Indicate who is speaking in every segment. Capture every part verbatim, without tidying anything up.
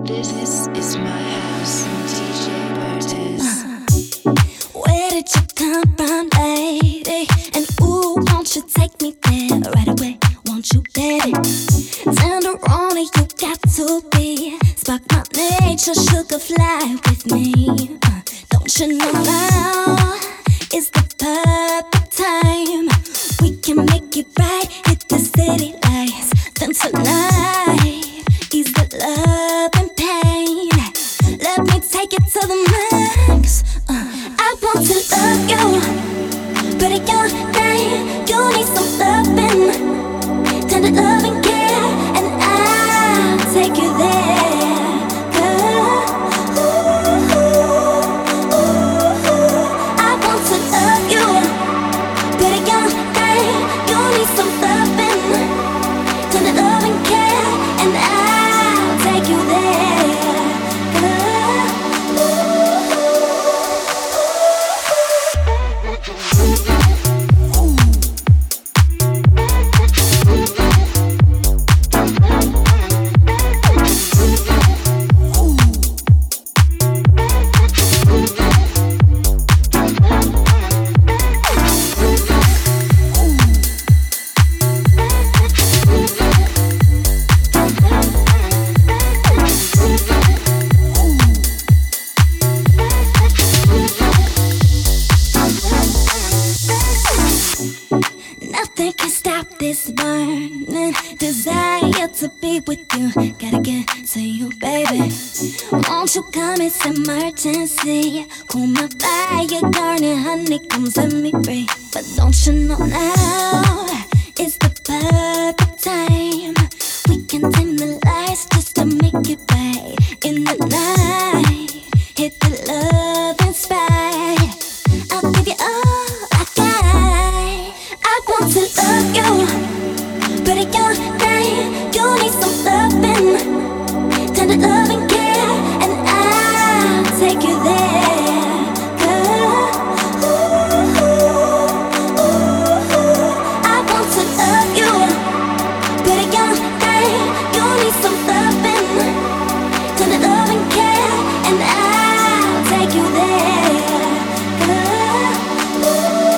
Speaker 1: This is my house, D J Burtis.
Speaker 2: Uh, where did you come from, lady? And ooh, won't you take me there right away? Won't you, baby? Tenderoni, you got to be. Spark my nature, sugar fly with me. Uh, don't you know now is the perfect time? We can make it right, hit the city lights. Then tonight is the love and pain. Let me take it to the max. uh, I want to love you, but at your name you need some loving, tender love and care, and I'll take you there. Girl, ooh, ooh, ooh. I want to love you, but at your name you need some loving, tender love and care, and I'll take you there. Nothing can stop this burning desire to be with you. Gotta get to you, baby. Won't you come? It's emergency. Cool my fire, garnet, honey, come set me free. But don't you know now it's the perfect time? We can dim the lights just to make it right in the night. Hit the love and spite. I'll give you all I got. I want to love you, but at your name you need some loving, tender love and care, and I'll take you there. Girl, ooh, ooh, ooh. I want to love you, but at your name you need some loving, tender love and care, and I'll take you there. Girl, ooh.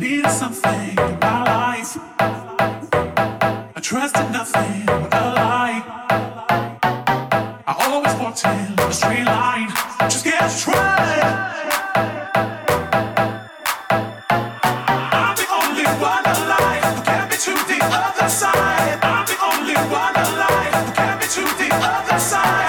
Speaker 3: needed something in my life. I trusted nothing but a lie. I always walked in a straight line. Just get to try. I'm the only one alive who can be to the other side. I'm the only one alive who can be to the other side.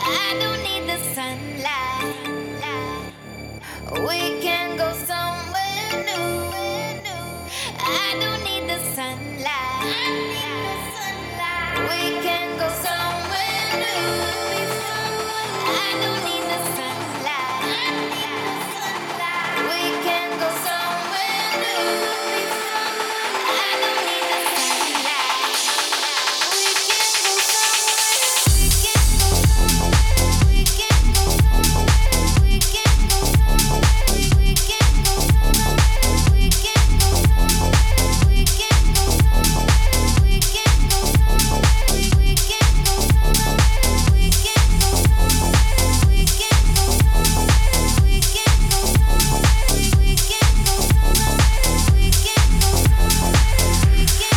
Speaker 2: I don't need the sunlight. We can go somewhere new. I don't need the sunlight. We can go somewhere new. I don't need the sunlight. We can go somewhere new. I don't need the sunlight. We can go somewhere. We can go somewhere. We can go somewhere. We can go somewhere. We can go somewhere. We can go somewhere. We can go somewhere. We can go somewhere. We can go somewhere. We can go somewhere. We can go somewhere. We can go somewhere. We can go somewhere. We can go somewhere. We can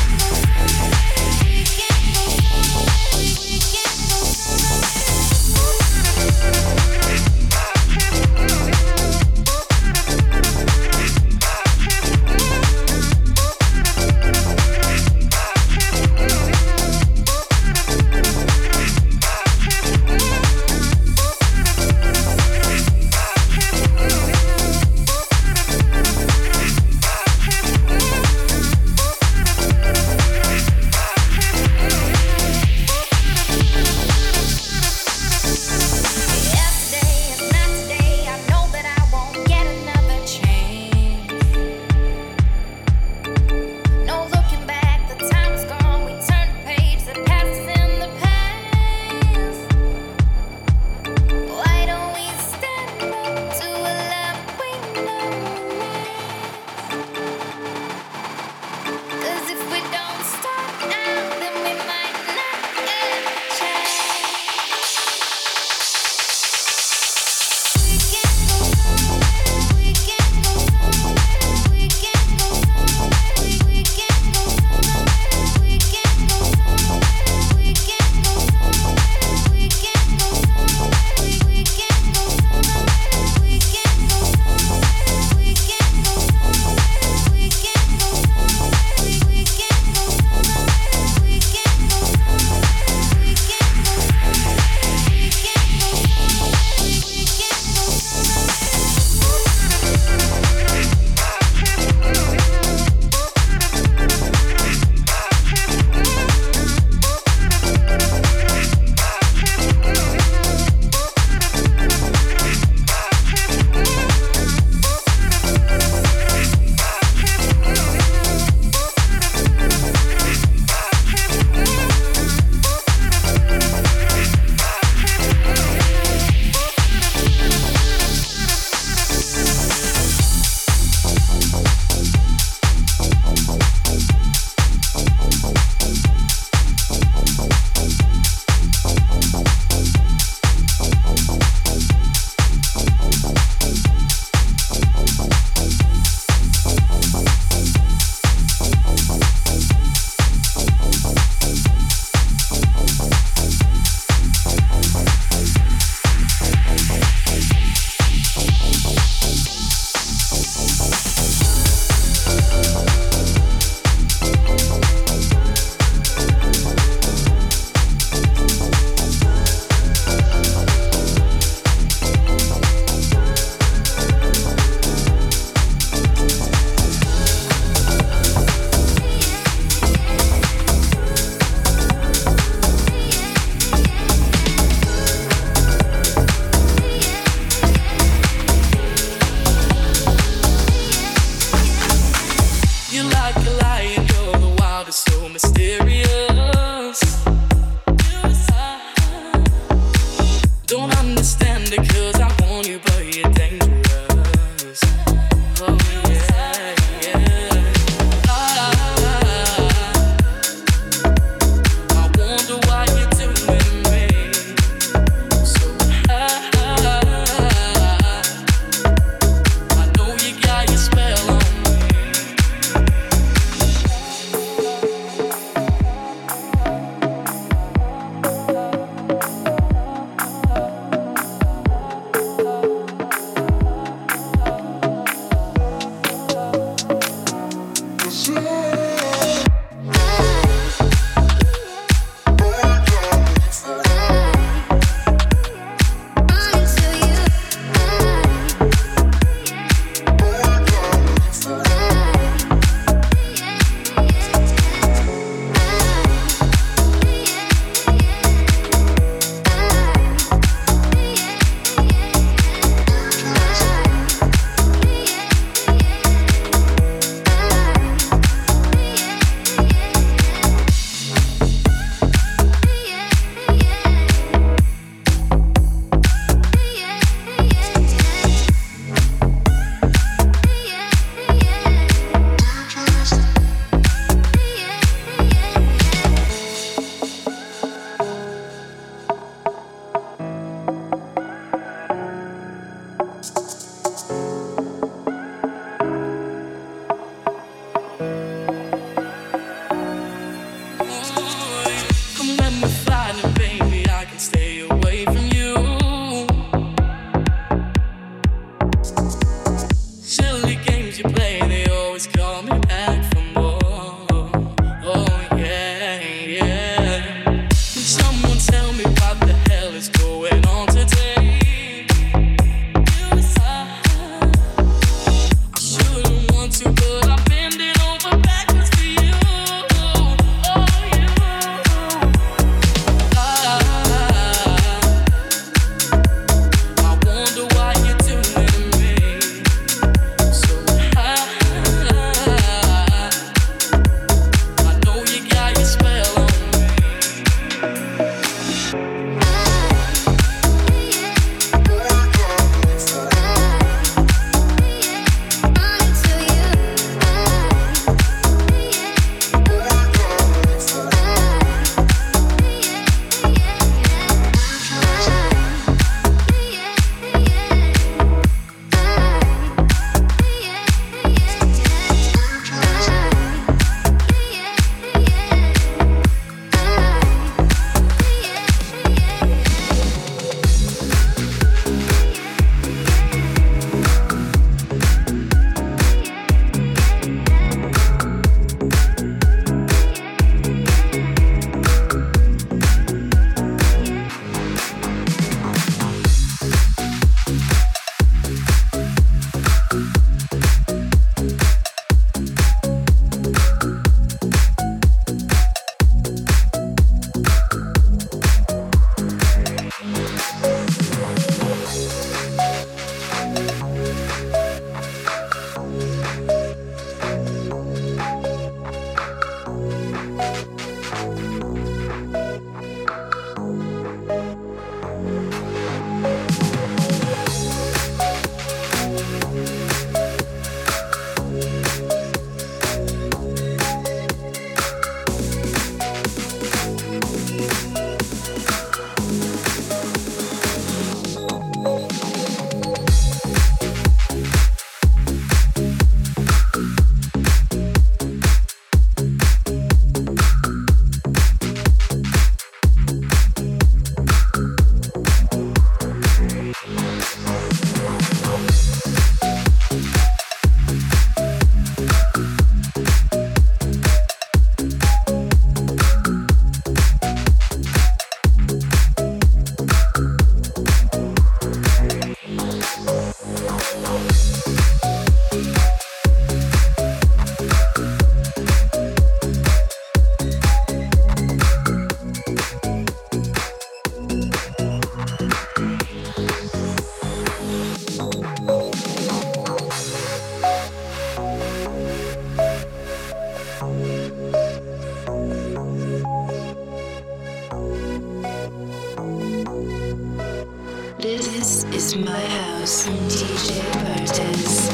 Speaker 1: This is my house, D J Bertes.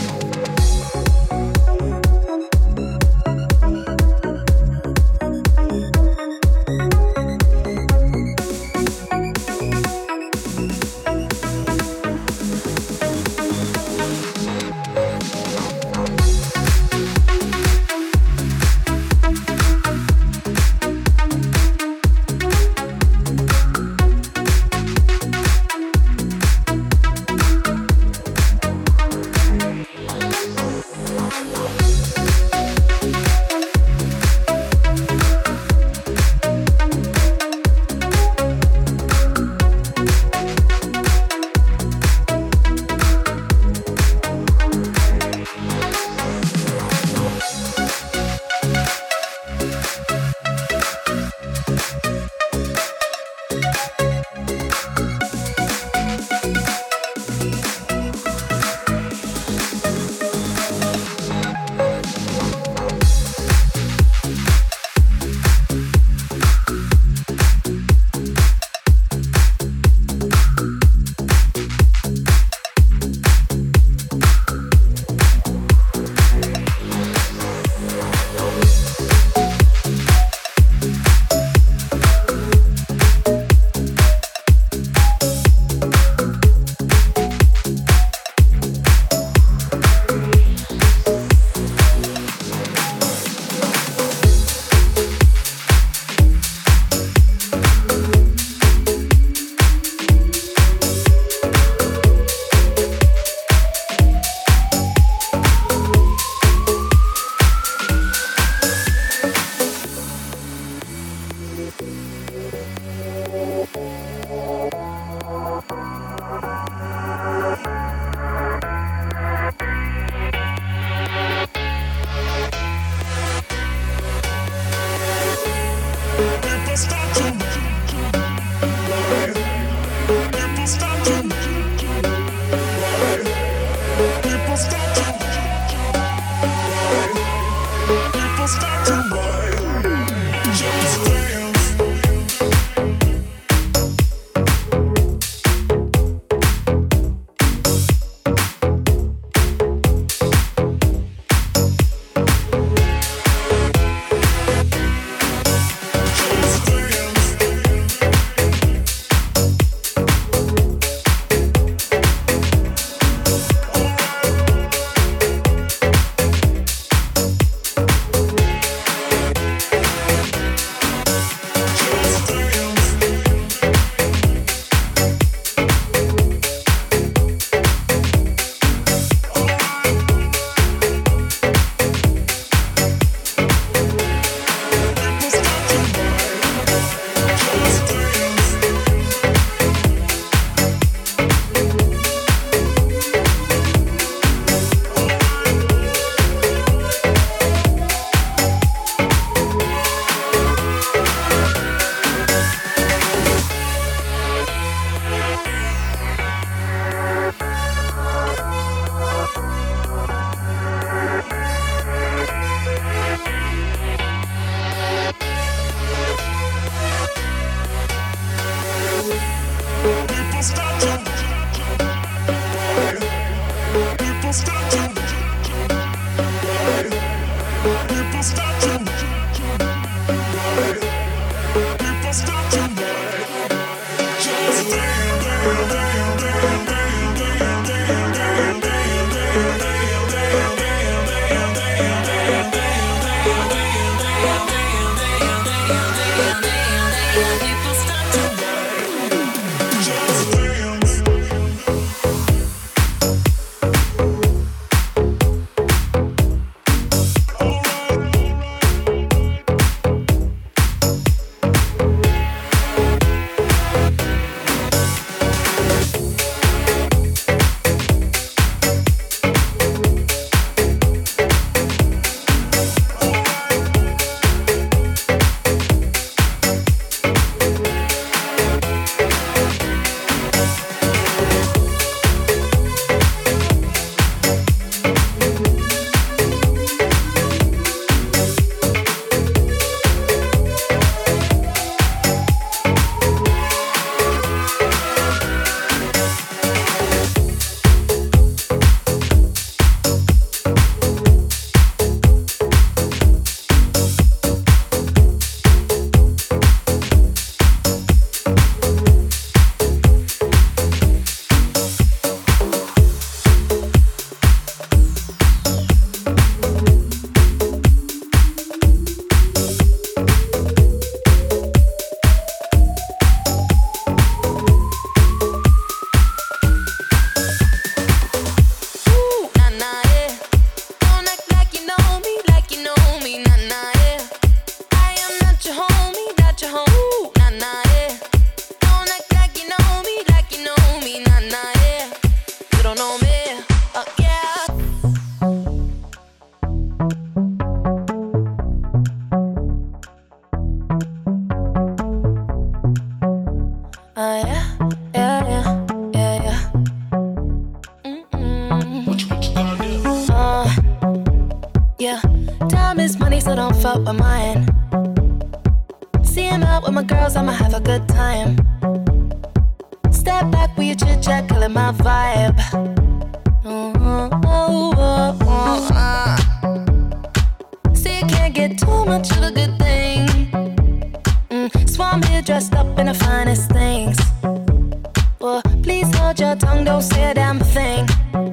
Speaker 4: off up with mine. See him out with my girls, I'ma have a good time. Step back with your chit chat, killing my vibe. Oh, oh, oh, oh, oh, uh. See, you can't get too much of a good thing. Mm, so I'm here dressed up in the finest things. Well, please hold your tongue, don't say a damn thing.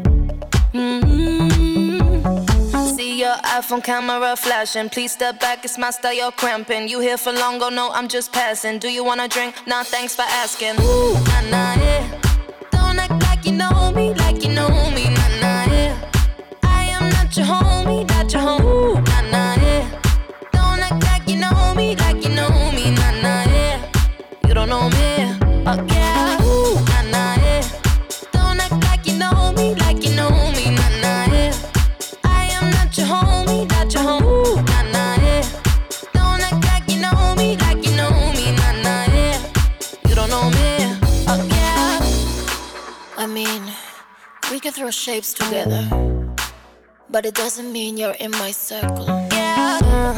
Speaker 4: Mm-hmm. See your iPhone camera flashing. Please step back, it's my style, you're cramping. You here for long, oh no, I'm just passing. Do you wanna drink? Nah, thanks for asking. Ooh, nah, nah, yeah. Don't act like you know me, like you know me, nah, nah, yeah. I am not your homie, not your homie, ooh, nah, nah, yeah. Don't act like you know me, like you know me, nah, nah, yeah. You don't know me, oh yeah, ooh, nah, nah, yeah. Don't act like you know me, like you know me, nah, nah, yeah. I am not your homie, not your homie, ooh, nah, nah, yeah. Don't act like you know me, like you know me, nah, nah, yeah. You don't know me, oh yeah. I mean, we can throw shapes together, but it doesn't mean you're in my circle. Yeah. Uh,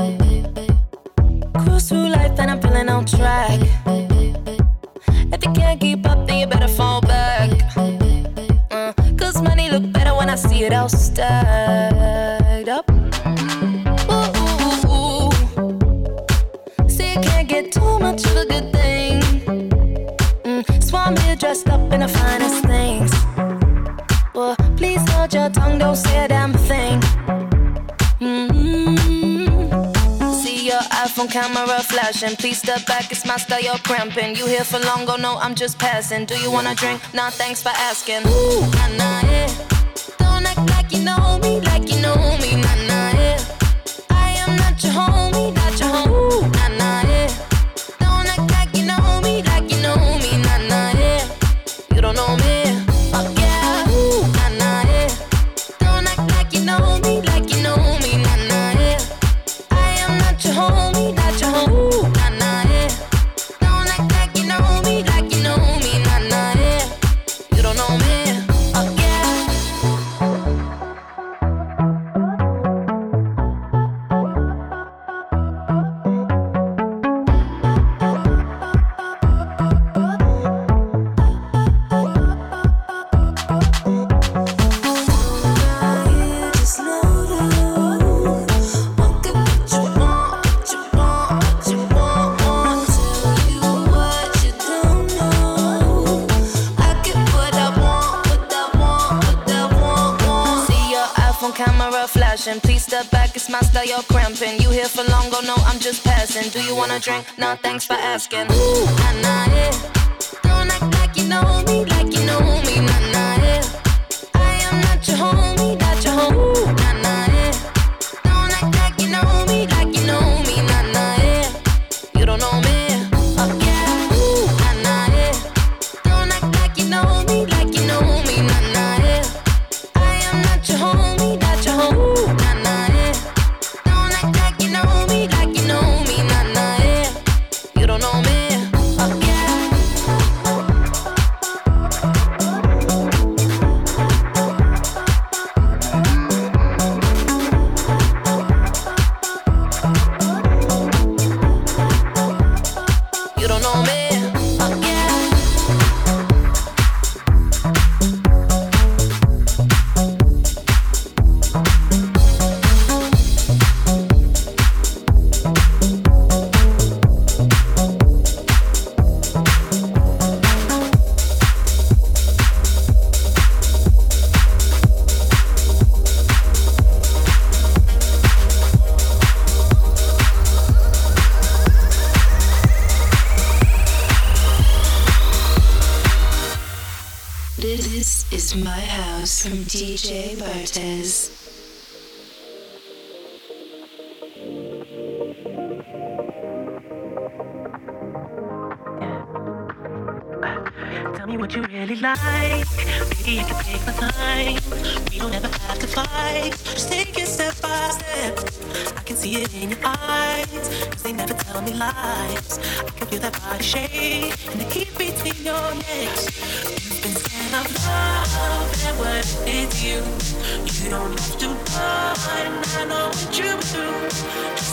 Speaker 4: cruise through life and I'm feeling on track. If you can't keep up, then you better fall back. Uh, Cause money look better when I see it all stacked up. Ooh, ooh, ooh. See, you can't get too much of a good thing. Mm, so I'm here dressed up in the finest things. Well, please hold your tongue, don't say a damn thing. Mm-hmm. See your iPhone camera flashing. Please step back, it's my style, you're cramping. You here for long, oh no, I'm just passing. Do you wanna drink? Nah, thanks for asking. Ooh, nah, nah, yeah. Don't act like you know me, like you know me, nah, nah, yeah. I am not your homie, not your homie, ooh, nah, nah, yeah. Don't act like you know me, like you know me, nah, nah, yeah. You don't know me, oh yeah, ooh, nah, nah, yeah. Don't act like you know me, like you know me, nah, nah, yeah. I am not your homie, not your homie, ooh, nah, nah, yeah. Don't act like you know me, like you know me, nah, nah, yeah. You don't know me, oh yeah. Camera flashing, please step back, it's my style, you're cramping. You here for long, oh no, I'm just passing. Do you wanna drink? Nah, thanks for asking. Ooh, nah, nah, yeah. Don't act like you know me, like you know me, nah, nah, yeah. I am not your homie, not your homie, ooh, nah, nah, yeah. Don't act like you know me, like you know me, nah, nah, yeah. You don't know me, oh yeah, ooh, nah, nah, yeah. Don't act like you know me, like you know me, nah, nah, yeah. I am not your homie, not your homie, ooh, nah, nah, yeah. Don't act like you know me, like you know me, nah, nah, yeah. You don't know me, oh yeah. You don't know me, oh yeah.
Speaker 1: This is My House from D J Bartez.
Speaker 5: Tell me what you really like. Baby, I can take my time. We don't ever have to fight. Just take it step by step. I can see it in your eyes, cause they never tell me lies. I can feel that body shake and the heat between your legs. You've been scared of love and what it did to you. You don't have to run, I know what you've been through. Just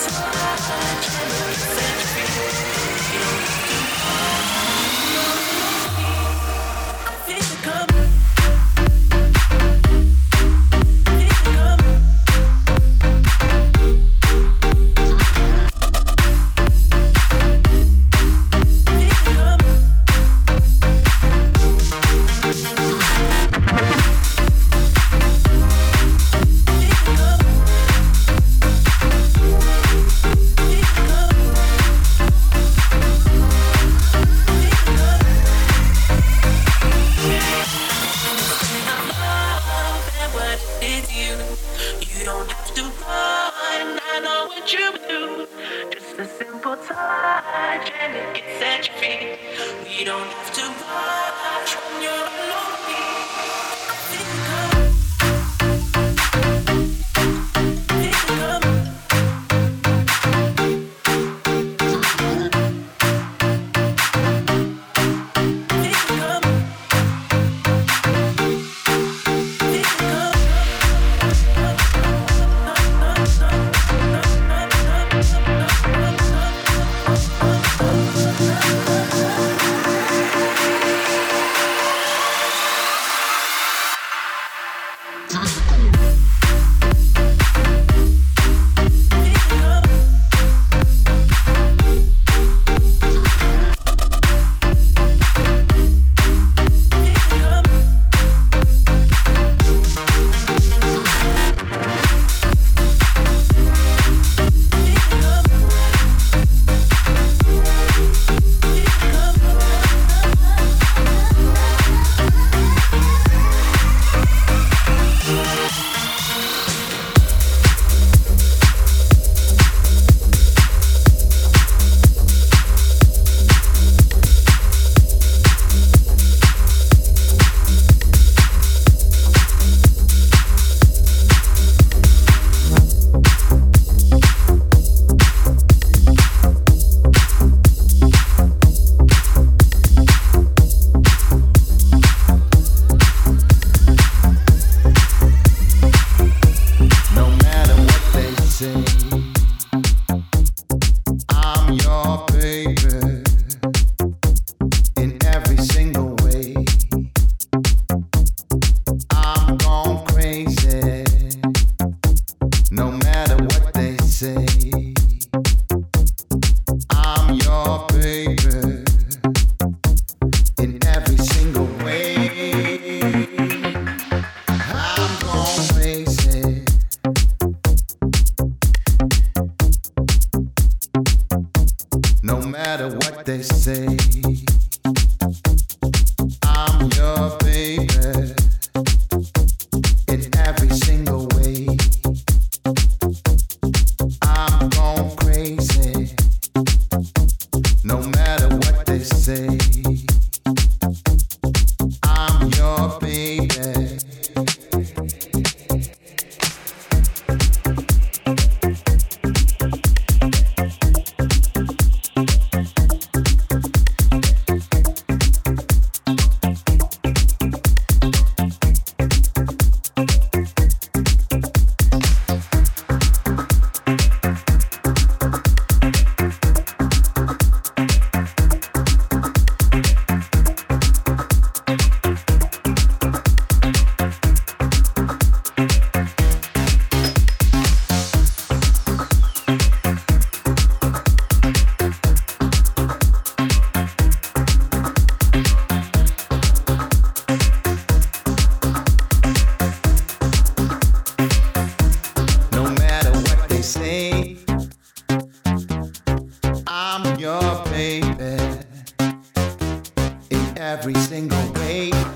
Speaker 6: I'm your baby in every single way.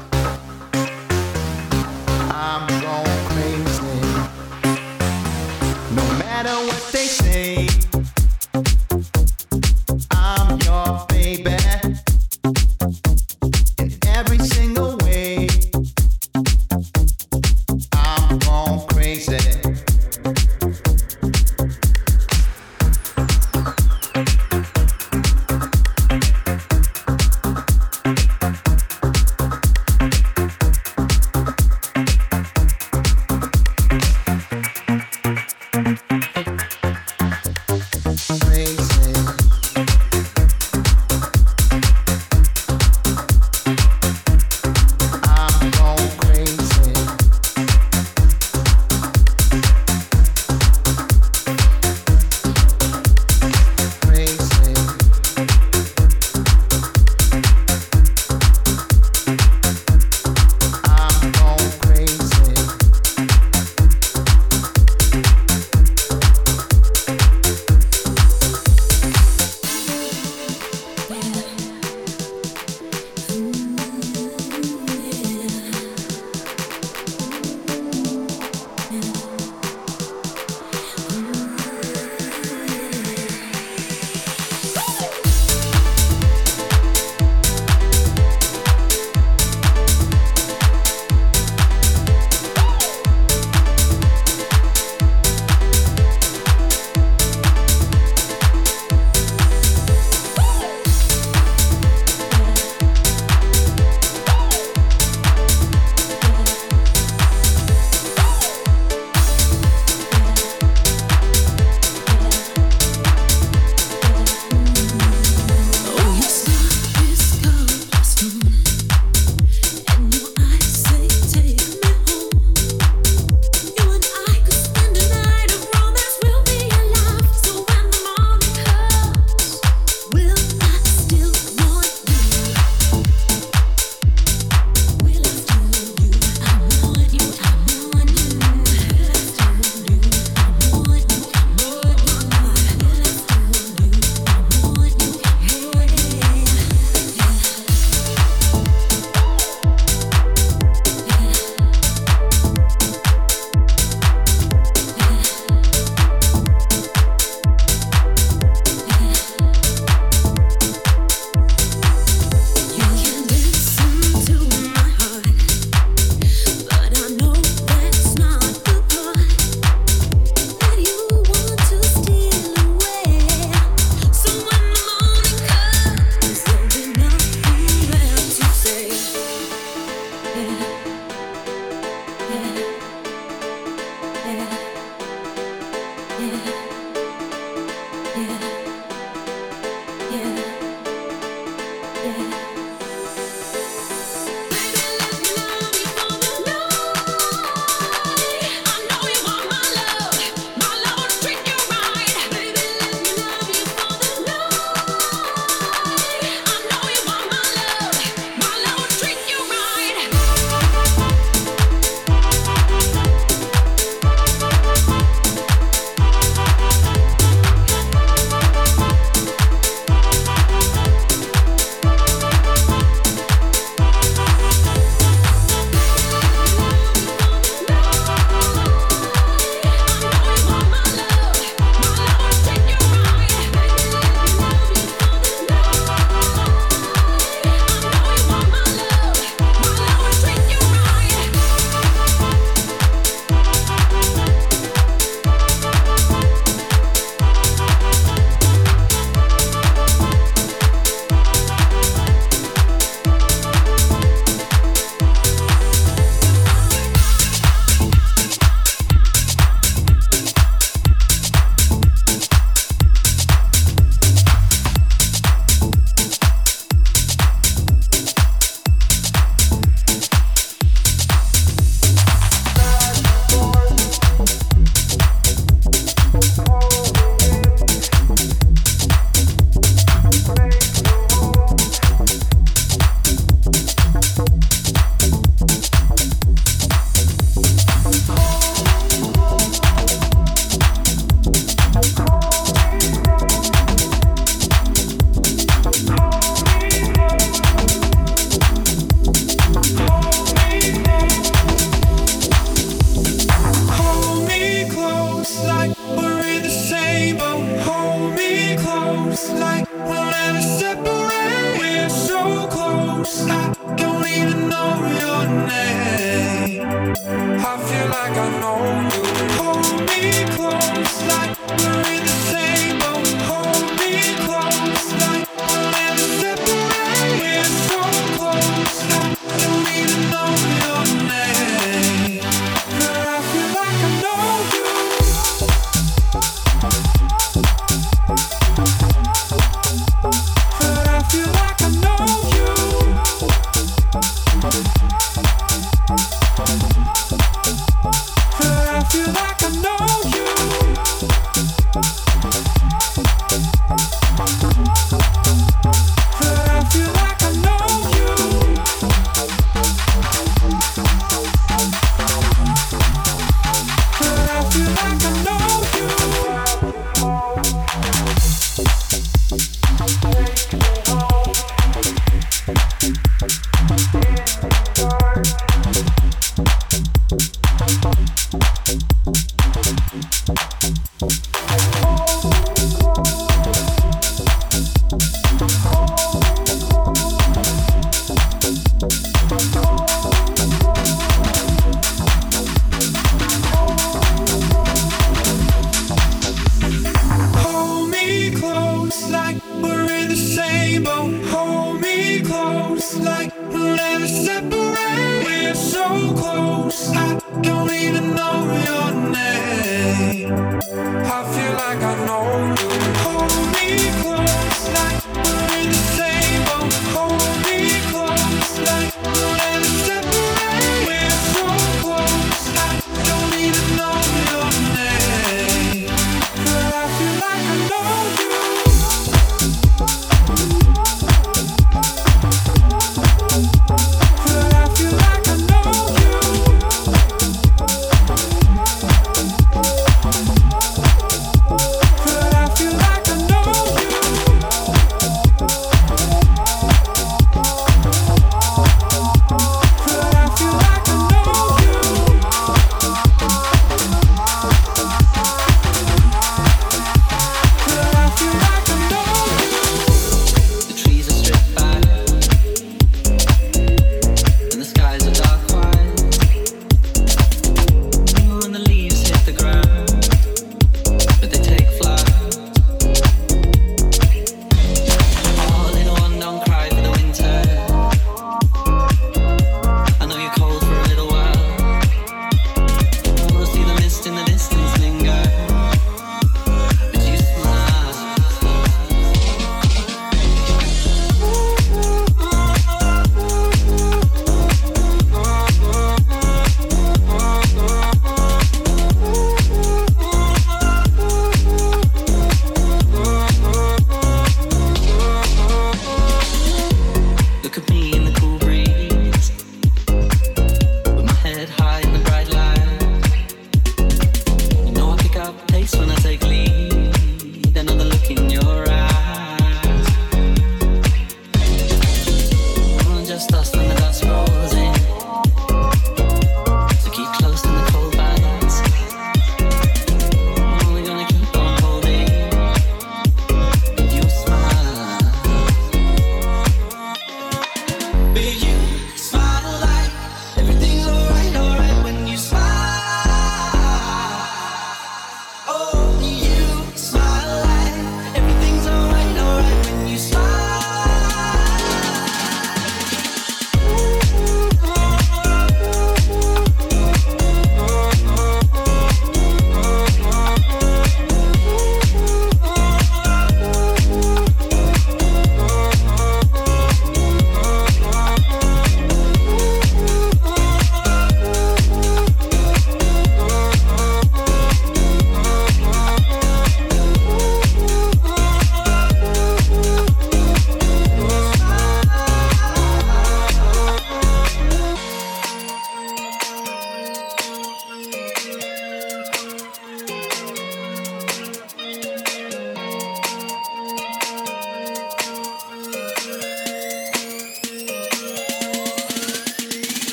Speaker 6: Hold me close like we're in the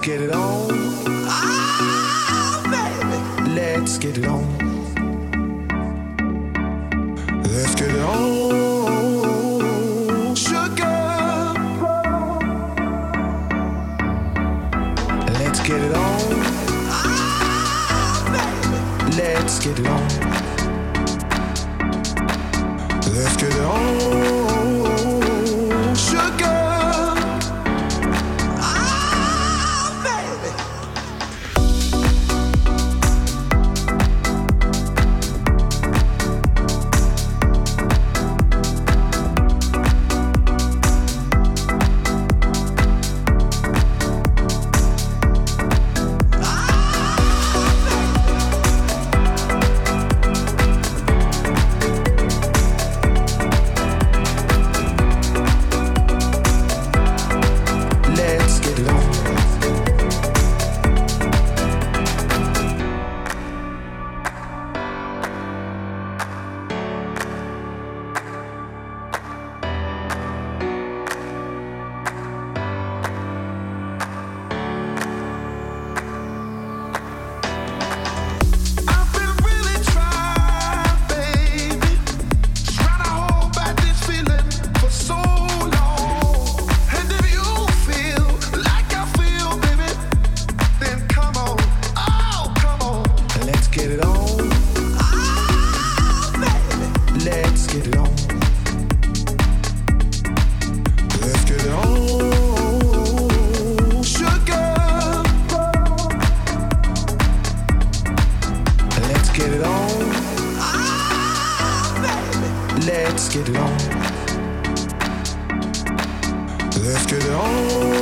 Speaker 6: get it on. Ah, baby. Let's get it on. Let's get it on. Sugar. Let's get it on. Ah, baby. Let's get it on. Let's get it on. Sugar. Let's get it on. Let's get it on.